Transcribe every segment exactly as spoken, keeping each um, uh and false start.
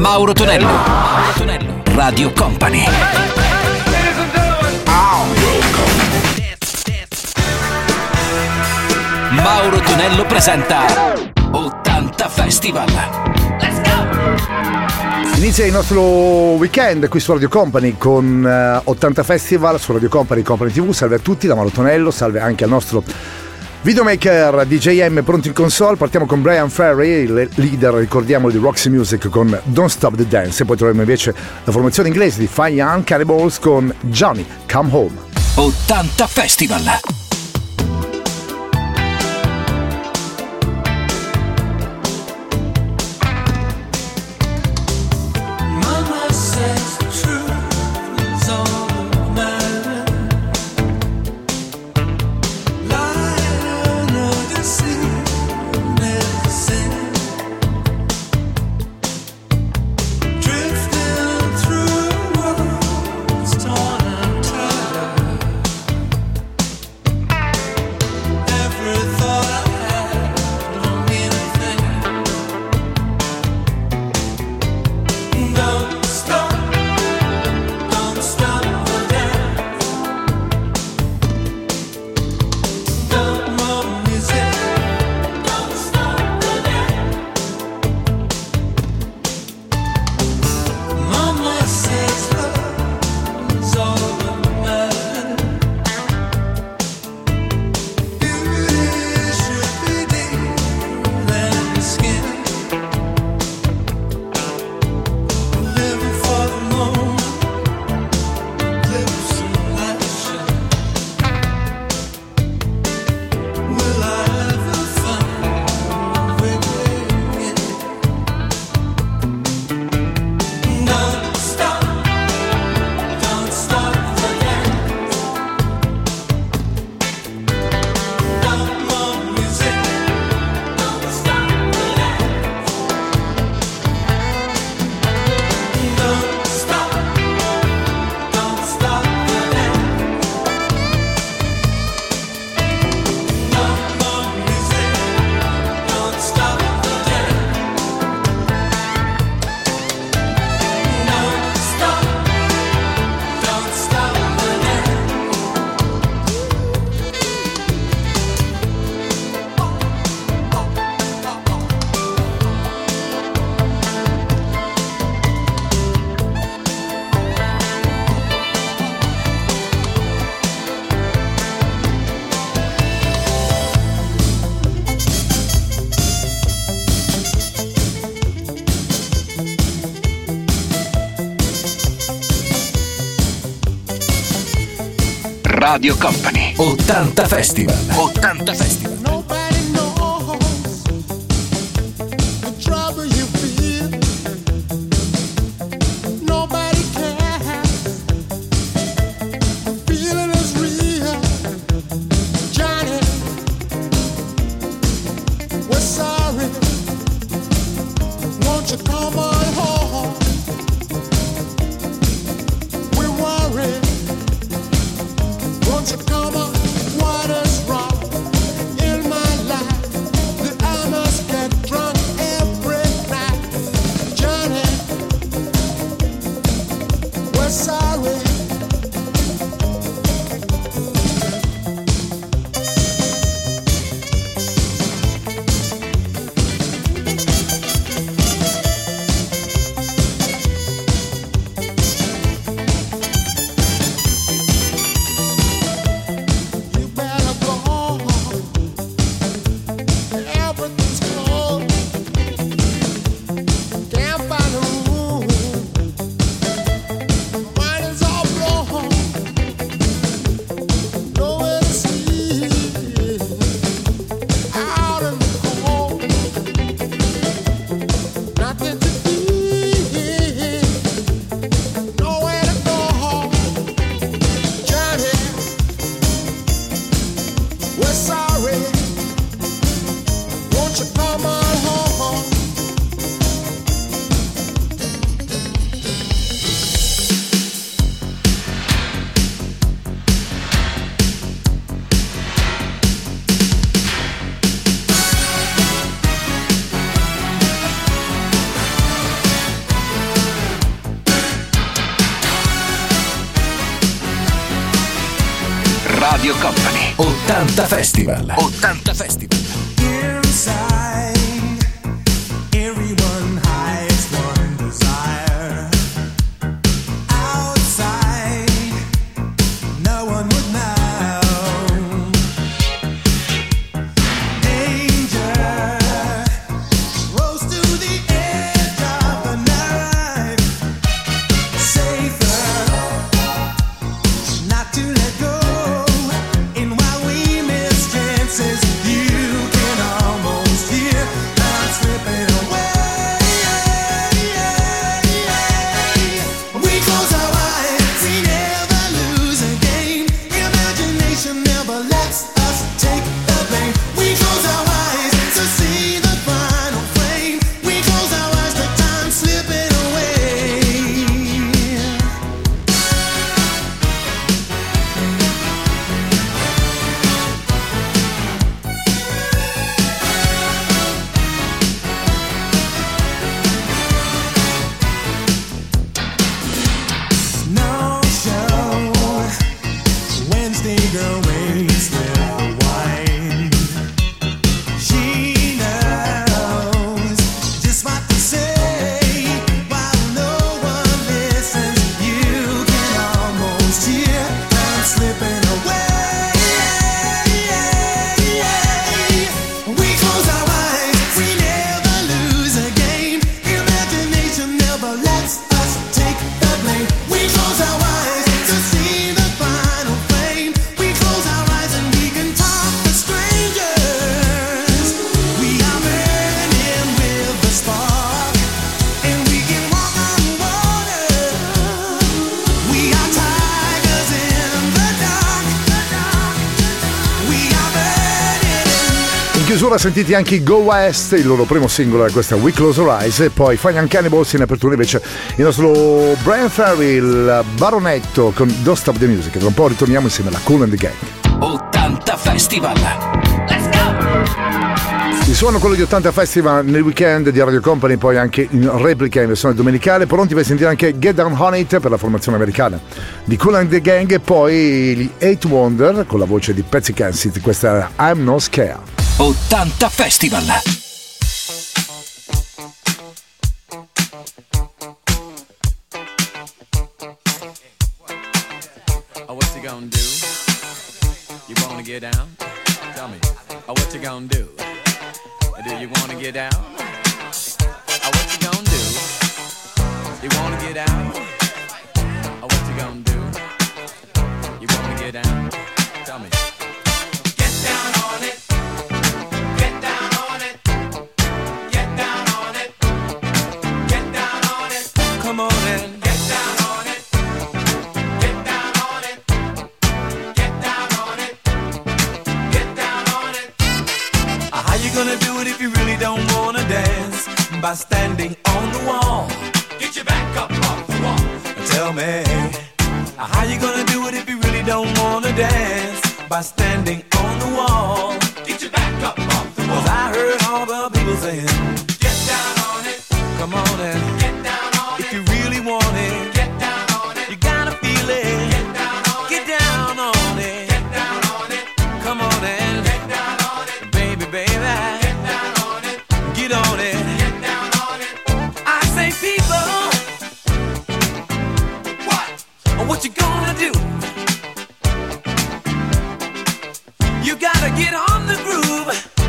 Mauro Tonello, Mauro Tonello, Radio Company. Mauro Tonello presenta ottanta Festival. Let's go! Inizia il nostro weekend qui su Radio Company con uh, ottanta Festival su Radio Company, Company tivù. Salve a tutti da Mauro Tonello, salve anche al nostro videomaker D J M pronto in console. Partiamo con Bryan Ferry, il leader, ricordiamo, di Roxy Music con Don't Stop the Dance, e poi troveremo invece la formazione inglese di Fine Young Cannibals con Johnny Come Home. ottanta Festival. Radio Company, ottanta Festival. ottanta Festival. Radio Company ottanta Festival. ottanta Festival. Inside, everyone hides one desire. Outside, no one would know. Danger rose to the edge of the knife. Safer not to let go. And while we miss chances, you can almost hear us slipping away. We close our eyes, we never lose a game. Imagination never lets us take the blame. We close our eyes to see the final flame. We close our eyes to time slipping away. No show. Wednesday girl waits with the wine. She knows just what to say while no one listens. You can almost hear time slipping away. We close our eyes, we never lose a game. Imagination never lets us take the blame. We close our eyes to see the final flame. We close our eyes and we can talk to strangers. We are burning with the spark, and we can walk on water. We are tigers in the dark. We are burning. In chiusura sentiti anche i Go West, il loro primo singolo è questa We Close Our Eyes, e poi Fine Cannibals. In apertura invece il nostro Brian Ferry, il baronetto, con Don't Stop the Music. Tra un po' ritorniamo insieme alla Kool and the Gang. ottanta Festival. Let's go! Il suono quello di ottanta Festival nel weekend di Radio Company, poi anche in replica in versione domenicale. Pronti per sentire anche Get Down On It per la formazione americana di Kool and the Gang, e poi gli Eight Wonder con la voce di Patsy Kensit. Questa è I'm No Scared. ottanta Festival. Oh, what you gonna do? You wanna get down? Tell me. Oh, what you gonna do? Do you wanna get down? Oh, what you gonna do? You wanna get down? Oh, what you gonna do? You wanna get down? Tell me. Get down on it. Get down on it. Get down on it. Get down on it. Come on in. Get down on it. Get down on it. Get down on it. Get down on it. Uh, How you gonna do it if you really don't wanna dance? By standing on the wall. Get your back up off the wall. Tell me. Uh, How you gonna do it if you really don't wanna dance? By standing on the wall. Get your back up off the wall. 'Cause I heard all the people saying, get down on it. Come on and get down on it. If you really want it, get down on it. You gotta feel it. Get down on it. Get down on it. Get down on it. Come on and get down on it. Baby, baby. Get down on it. Get on it. Get down on it. I say people. What? What you gonna do? You gotta get on the groove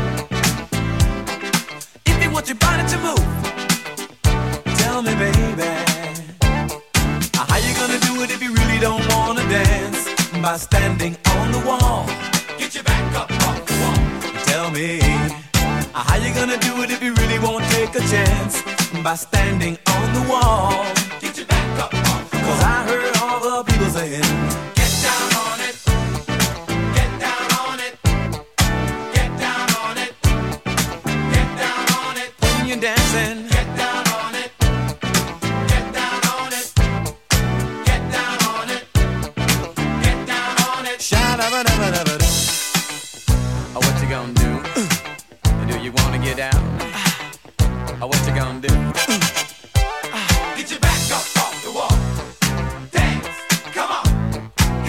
if you want your body to move. Tell me, baby, how you gonna do it if you really don't wanna dance? By standing on the wall. Get your back up off the wall. Tell me, how you gonna do it if you really won't take a chance? By standing on the wall. Get your back up off the wall. 'Cause I heard all the people saying, get down on it. Get down on it. Get down on it. Get down on it. When you're dancing, get down on it. Get down on it. Get down on it. Get down on it. Sha-da-ba-da-ba-da-ba-da. Oh, what you gonna do? Do you wanna get down? Oh, what you gonna do? Get your back up off the wall. Dance, come on.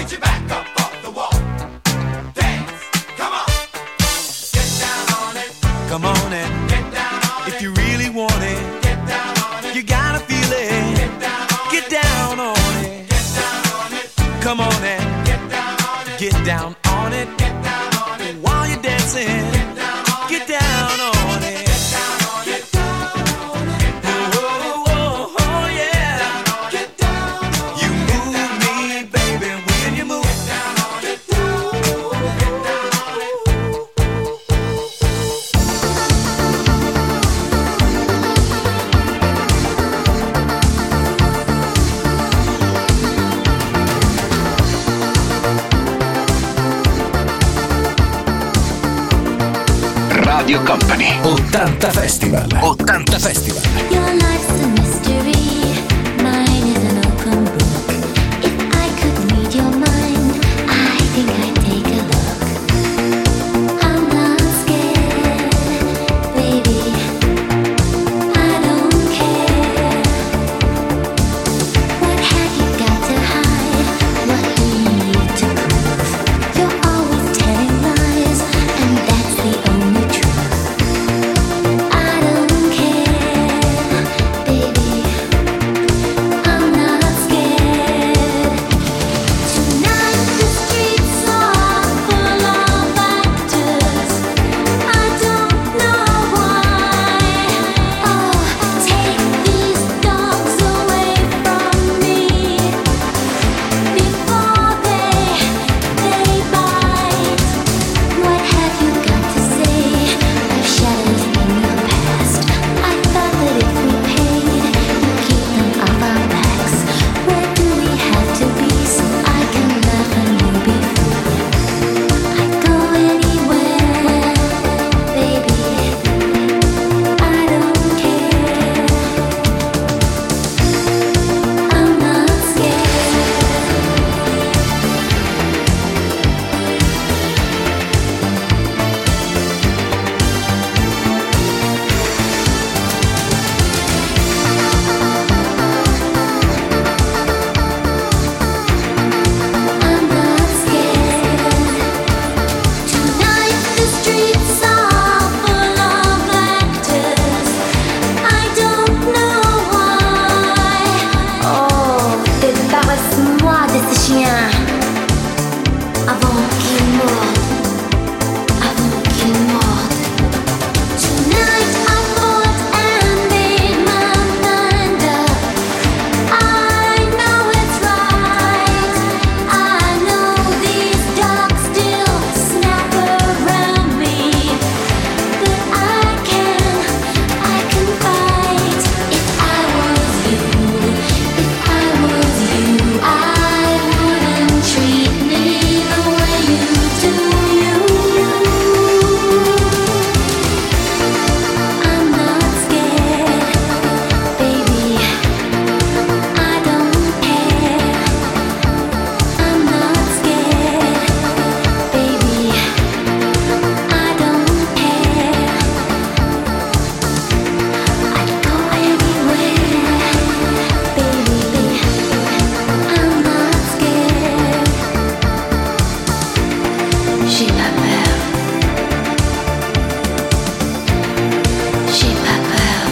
Come on and get down on it. Get down on it. Get down on it. While you're dancing, get down on it. Get down on it. Get down on it. Get down on it. Oh, oh, oh, oh, yeah. Get down on it. You move me, baby, when you move. Get down on it. Get down on it. Get down on Radio Company ottanta Festival. ottanta Festival. Your life's a mystery, mine is an open book. If I could read your mind, I think I'd take a look. I'm not scared, baby, I don't care. What have you got to hide? What do you need to prove? You're always telling lies, and that's the only truth. I don't care, baby, I'm not scared. Tonight the streets are full of actors. I don't know why. Oh, take these dogs away from me before they they bite. What have you got to say? I've shadows in your past. I thought that if we paid, you'd keep them off our backs. Where do we have to be so I can laugh and you be free? I'd go anywhere, baby, I don't care. I'm not scared. I'm not scared. Tonight the streets are full of actors. I don't know why. Oh, débarrasse-moi de ce chien avant qu'il morde, avant qu'il morde. Tonight I fought and made my mind up. I know it's right. I know these dogs still snap around me, but I can, I can fight. If I was you, if I was you, I wouldn't treat me the way you do you. I'm not scared, baby, I don't care. I'm not scared, baby, I don't care. I'd go anywhere, baby, I'm not scared. J'ai pas peur. J'ai pas peur.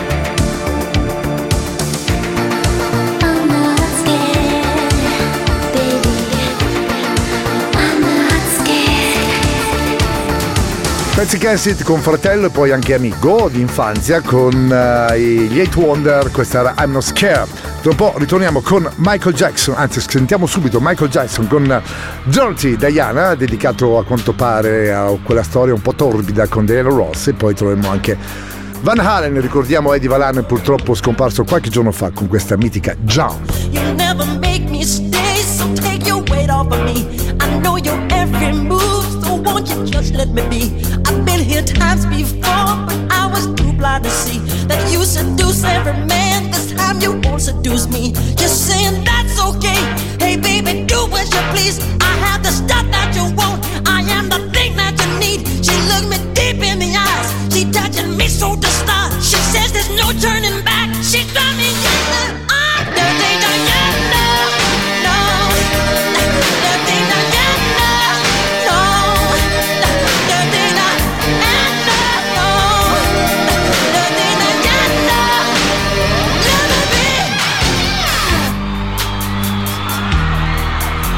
I'm not scared, baby, I'm not scared. Patsy Kensit con fratello e poi anche amico di infanzia con eh, gli Eight Wonder, questa era I'm Not Scared. Tra un po' ritorniamo con Michael Jackson, anzi sentiamo subito Michael Jackson con Dirty Diana, dedicato a quanto pare a quella storia un po' torbida con Diana Ross, e poi troveremo anche Van Halen, ricordiamo Eddie Van Halen, purtroppo scomparso qualche giorno fa con questa mitica Jump. You never make me stay, so take your weight off of me. I know your every move, so won't you just let me be? I've been here times before, but I was too blind to see that you seduce every man. This time you won't seduce me. You're saying that's okay. Hey baby, do as you please. I have the stuff that you want. I am the thing that you need. She looked me deep in the eyes. She touching me so to start. She says there's no turning back. She got me in the I'm dirty Diana. No, dirty Diana. No, dirty Diana. No, dirty Diana. Let me be.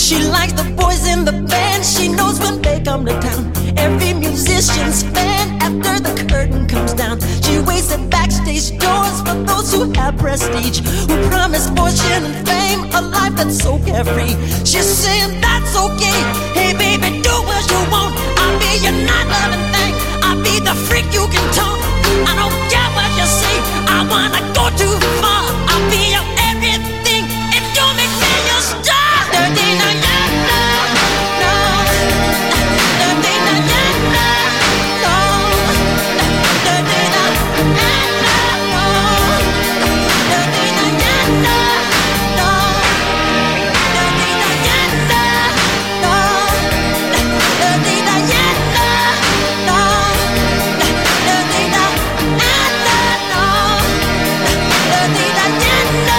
She likes the boys in the band. She knows when they come to town. Every musician's fan after the curtain comes down. She waits at backstage doors for those who have prestige, who promise fortune and fame, a life that's so carefree. She's saying that's okay. Hey baby, do what you want. I'll be your not loving thing. I'll be the freak you can talk. I don't care what you say. I wanna go too far. I'll be your everything if you make me your star. Dirty na na na, no. Dirty na na na, no. Dirty na na na, no. Dirty na na na, no. Dirty na na na, no. Dirty na na na, no. Dirty na na na, no. Dirty na na na.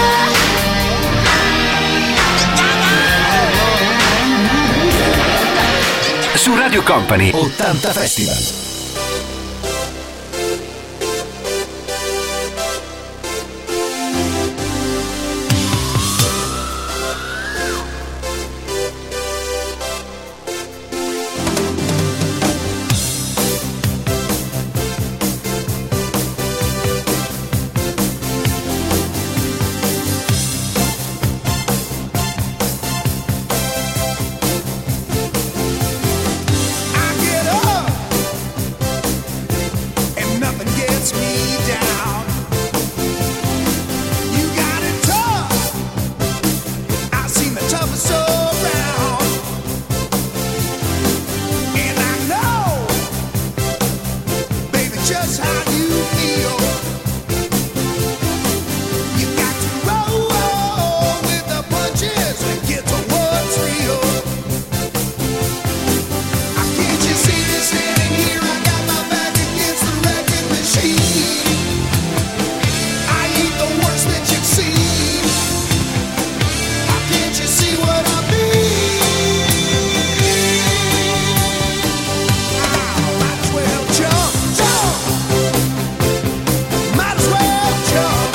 Su Radio Company ottanta Festival. I get up and nothing gets me down. You got it tough. I've seen the toughest around, and I know, baby, just how you feel. You got to roll with the punches and get to what's real. Can't you see me standing here? I got my back against the wrecking machine. I ain't the worst that you've seen. Can't you see what I mean? Ah, might as well jump, jump. Might as well jump.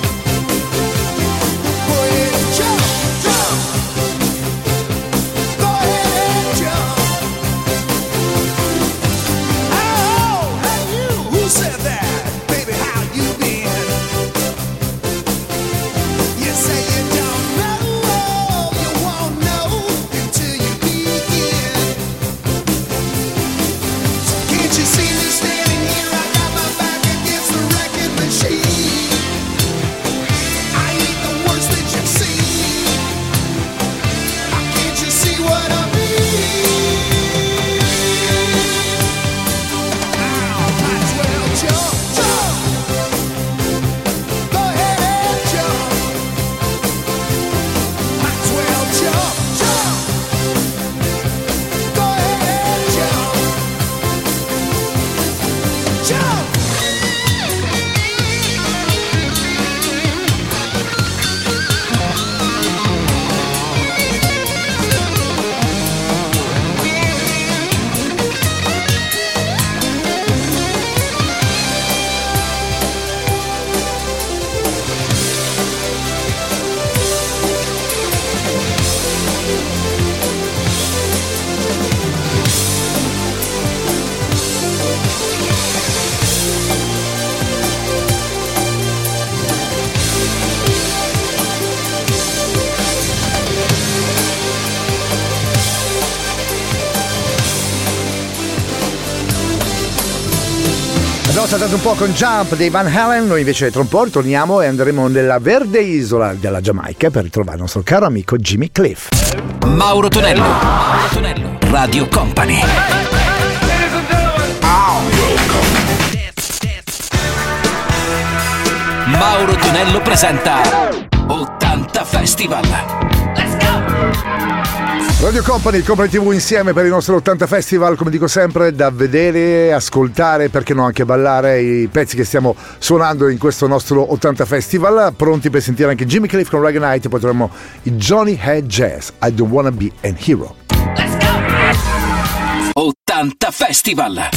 Go ahead and jump, jump. Go ahead and jump. Oh, hey you, who said that? Baby, how you been? You say you don't know, you won't know until you begin. Can't you see me standing here? I got my back against the wrecking machine. I ain't the worst that you've seen. Can't you see what I mean? Might as well jump, jump. Go ahead and jump. Might as well jump, jump. Go ahead and jump. Jump. Abbiamo saltato un po' con Jump dei Van Halen, noi invece tra un po' ritorniamo e andremo nella verde isola della Giamaica per ritrovare il nostro caro amico Jimmy Cliff. Mauro Tonello, Mauro Tonello, Radio Company. Mauro Tonello presenta ottanta Festival. Let's go! Radio Company, Company tivù insieme per il nostro ottanta Festival, come dico sempre, da vedere, ascoltare, perché no anche ballare i pezzi che stiamo suonando in questo nostro ottanta Festival. Pronti per sentire anche Jimmy Cliff con Reggae Night, e poi troviamo i Johnny Head Jazz, I Don't Wanna Be an Hero. Let's go! ottanta Festival.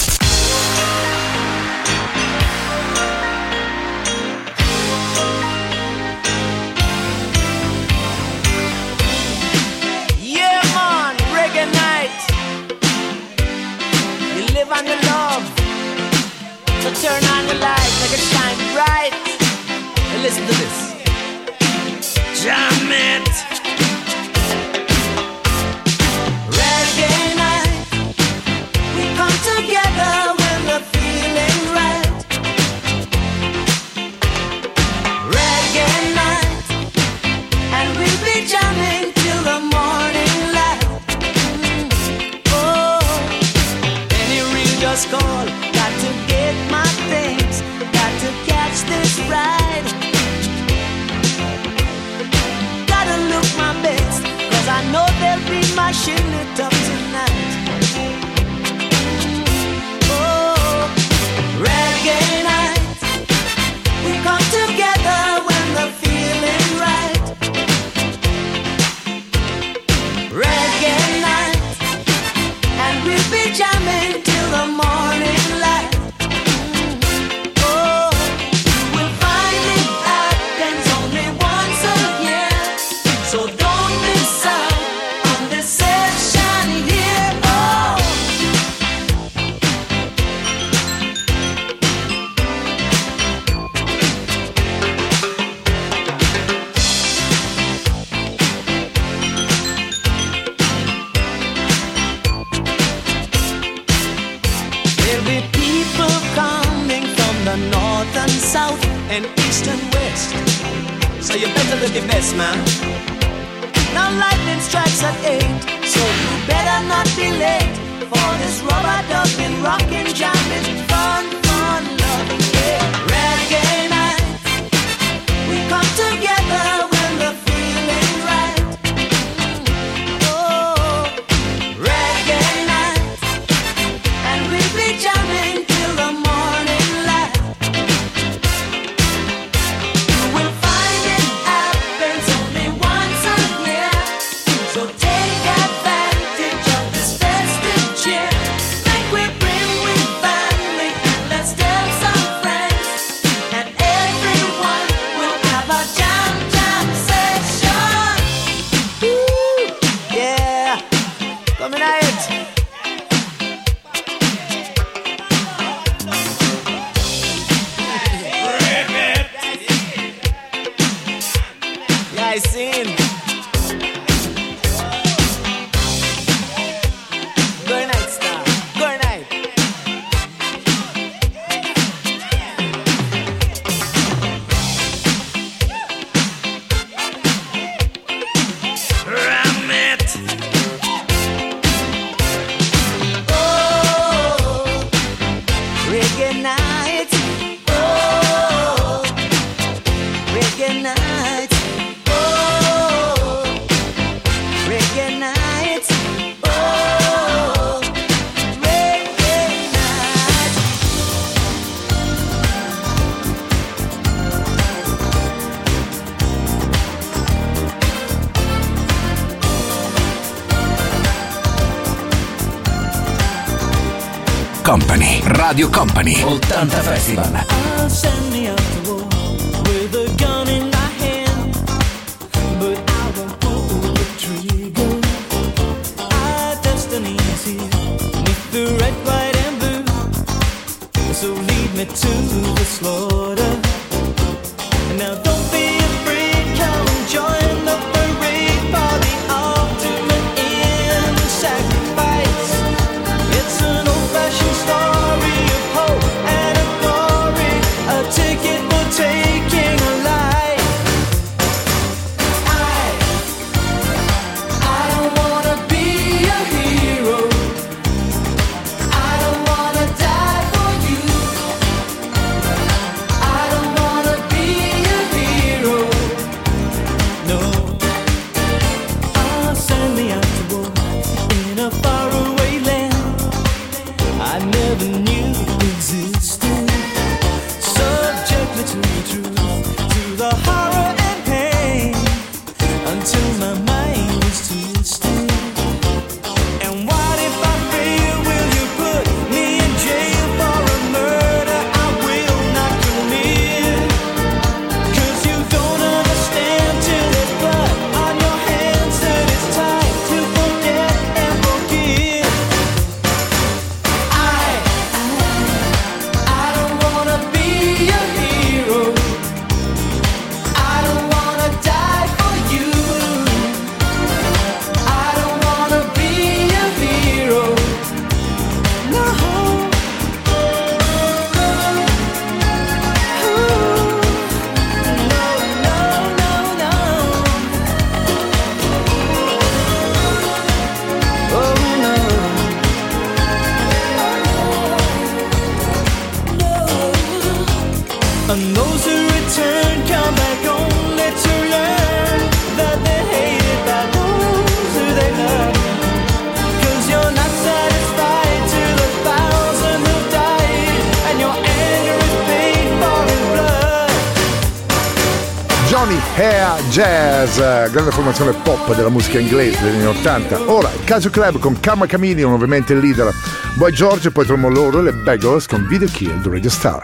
Yeah, turn on the light, make it shine bright. And listen to this. Jam it. Reggae night, we come together when we're feeling right. Reggae night, and we'll be jamming till the morning light. Mm. Oh, any ring just call, got to get my things, got to catch this ride. Gotta look my best, cause I know they'll be mashing it up tonight. Oh, reggae night, we come together when the feeling right. Reggae night, and we'll be jamming till the morning light. Oh, you will find it happens only once a year, so don't miss out on this session here. Oh. There'll be people coming from the north and south and east and west, so you better look your best, man. Now lightning strikes at eight, so you better not be late for this rubber ducking, rockin', jamming, fun, fun, loving, yeah. Reggae night, we come together when the feeling right. Oh, reggae night, and we'll be jamming till the morning light. You will find it happens only once a year, so take advantage of this festive cheer. Like we bring with family, and let's tell some friends, and everyone will have a jam jam session. Woo, yeah, coming out. Yeah, I seen. Good night, star. Good night. Ram it. Oh, reggae night. Oh, reggae night. Oh, reggae night. Oh, reggae night. Company, Radio Company, ottanta Festival. I'll send me out to war with a gun in my hand, but I won't pull the trigger. Our destiny is here, beneath the red, white, and blue. So lead me to the slaughter. And now don't be afraid, come and join the parade for the ultimate end sacrifice. It's an old-fashioned story of hope and of glory, a ticket for taking a life. I, I don't wanna be a hero. I don't wanna die for you. I don't wanna be a hero. No, I'll send me out to war in a faraway land I never knew existed. Subject to the truth, to the horror and pain, until my mind is twisted. And what if I fail? Will you put me in jail for a murder I will not commit? 'Cause you don't understand till there's blood on your hands that it's time to forget and forgive. Hair Jazz, grande formazione pop della musica inglese degli anni ottanta. Ora, il Casio Club con Karma Chameleon, ovviamente il leader Boy George, e poi troviamo loro e le Beggars con Video Kill the Radio Star.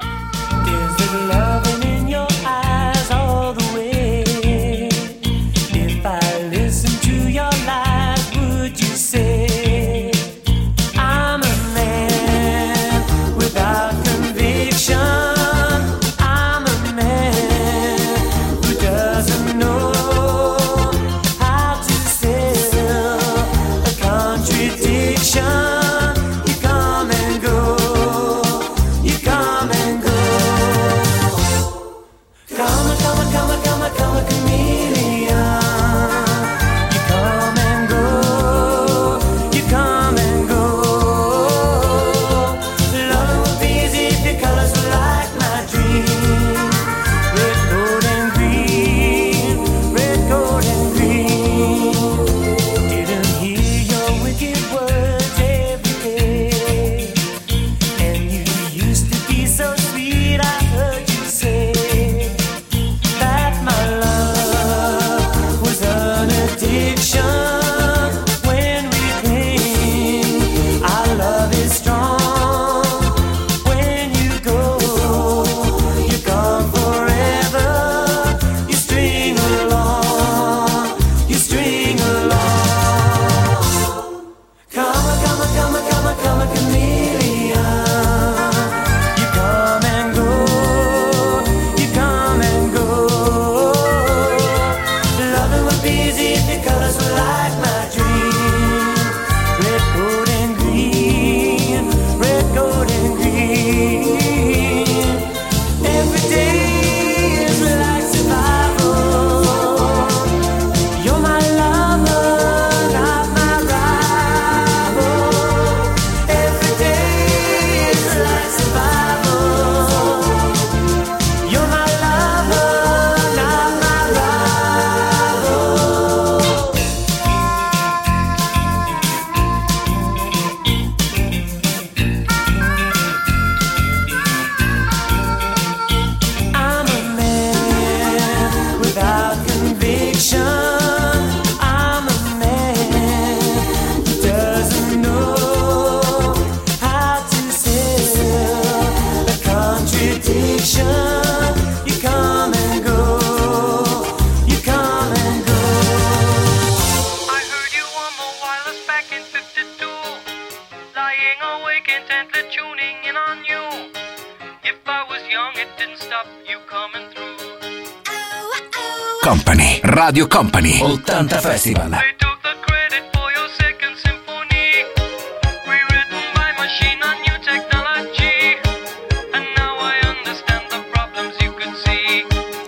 Company, Radio Company, ottanta Festival. They took the credit for your second symphony, rewritten by machine on new technology, and now I understand the problems you could see.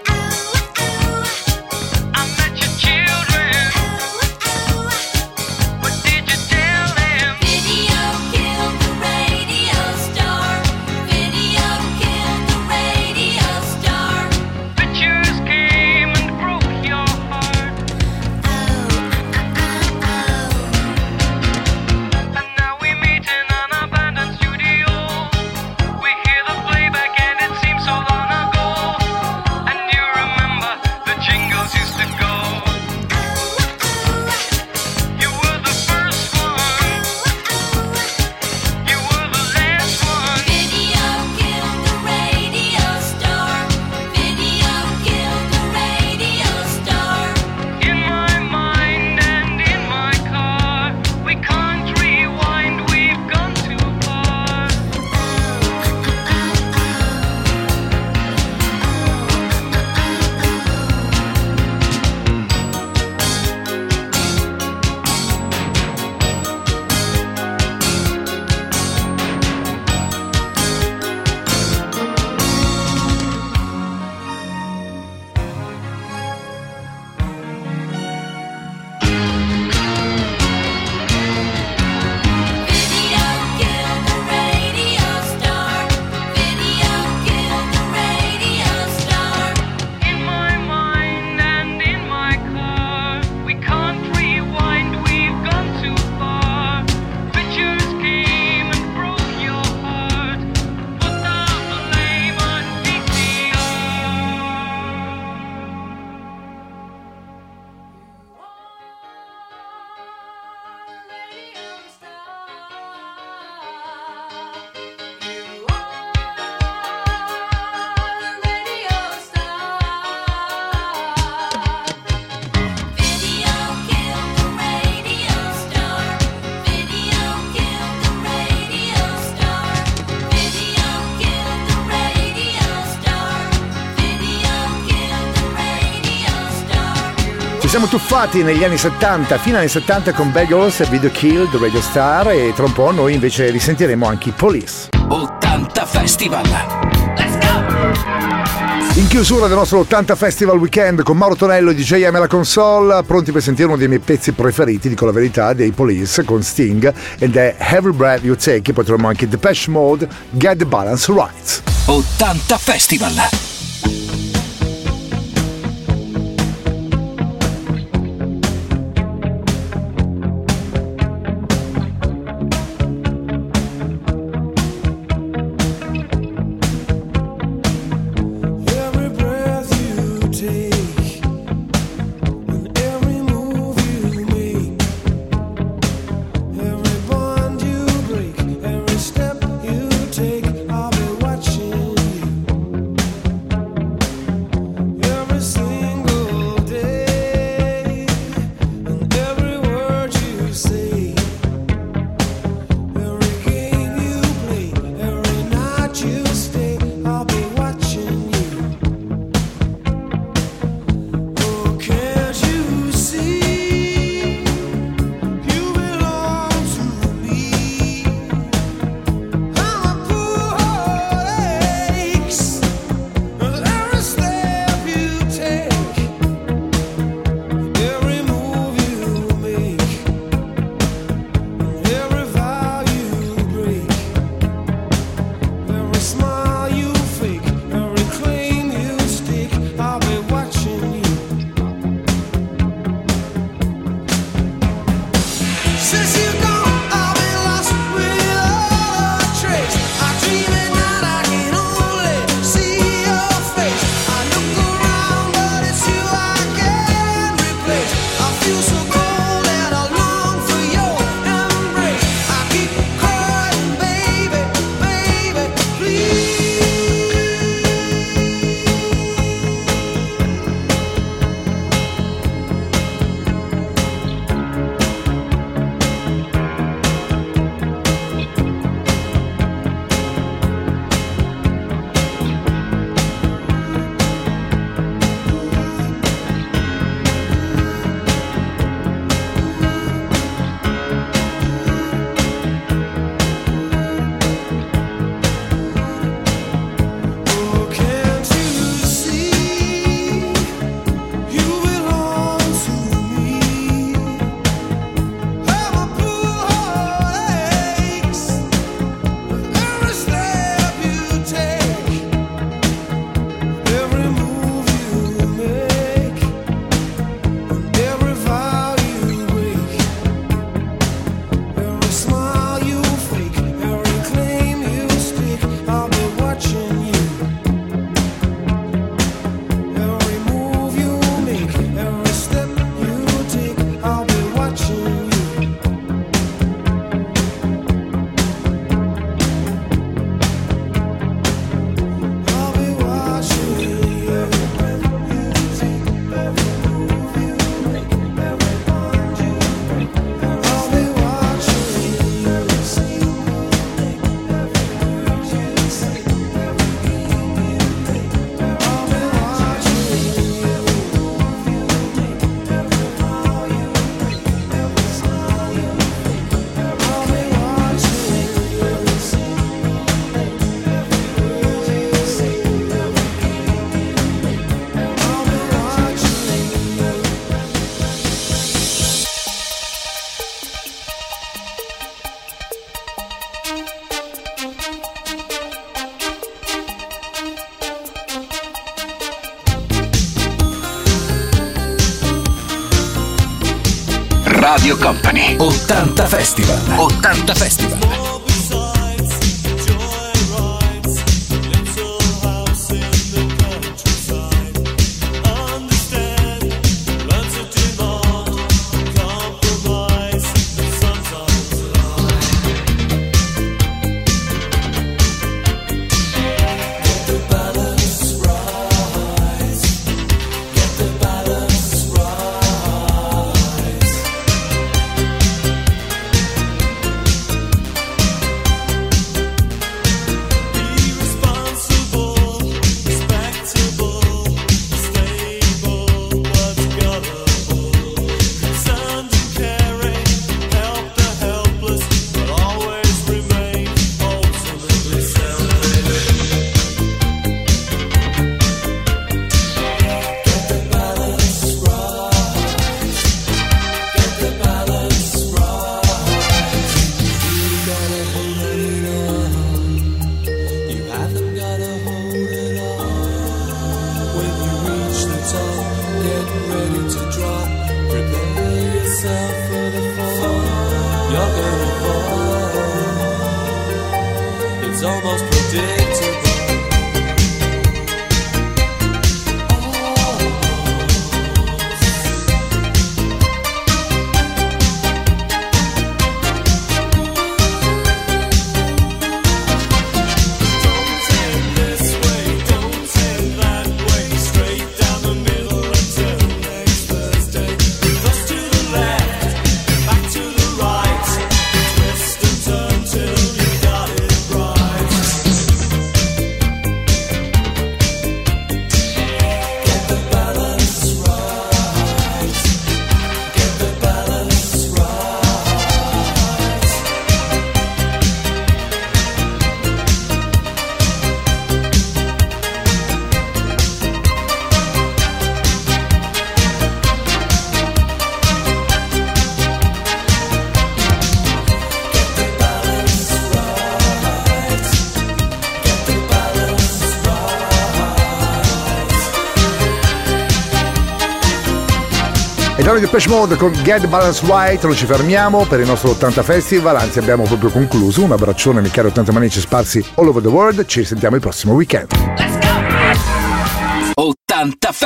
I met your children, what did you tell them? Video killed the radio star. Video killed the radio star. Pictures came and broke your heart. Oh, Ci siamo tuffati negli anni settanta, fino agli anni settanta con Bagels e Video Kill, The Radio Star, e tra un po' noi invece risentiremo anche i Police. ottanta Festival. In chiusura del nostro ottanta Festival Weekend con Mauro Tonello e D J M alla console, pronti per sentire uno dei miei pezzi preferiti, dico la verità, dei Police con Sting, ed è Every Breath You Take. Poi troviamo anche Depeche Mode, Get the Balance Right. ottanta Festival. Every breath you take and every move you make, every bond you break, every step you take, I'll be watching you. Every single day and every word you say, every game you play, every night you stay, I'll be watching you. Oh, can't you see? You belong to me. I'm a poor aches with every step you take, every move you make, every vow you break, every smile you fake, every claim you stick, I'll be watching you. Since you've gone, I've been lost without a trace. I dream at night, I can only see your face. I look around, but it's you I can't replace. I feel so cold and I long for your embrace. I keep crying, baby, baby, please. Oh, can't you see? You belong to me. I'm a poor aches with every step you take, every move you make, and every vow you break, every smile you fake, every claim you stick, I'll be watching you. Every move you make, every step you take, I'll be watching you. I'll be watching you. Every breath you take, every move you make, every bond you break, I'll be watching you. Every single day, every word you say, every game you play, I'll be watching you. Every move you make, every vow you break, every smile you fake, I'll be watching you. Every single day, every word you say, every game you play, I'll be watching you. Radio Company. ottanta Festival. ottanta Festival. Balance you're gonna fall. It's almost predictable. Di Depeche Mode con Get the Balance Right. Non ci fermiamo per il nostro ottanta Festival, anzi abbiamo proprio concluso. Un abbraccione ai cari ottanta manici sparsi all over the world. Ci risentiamo il prossimo weekend. ottanta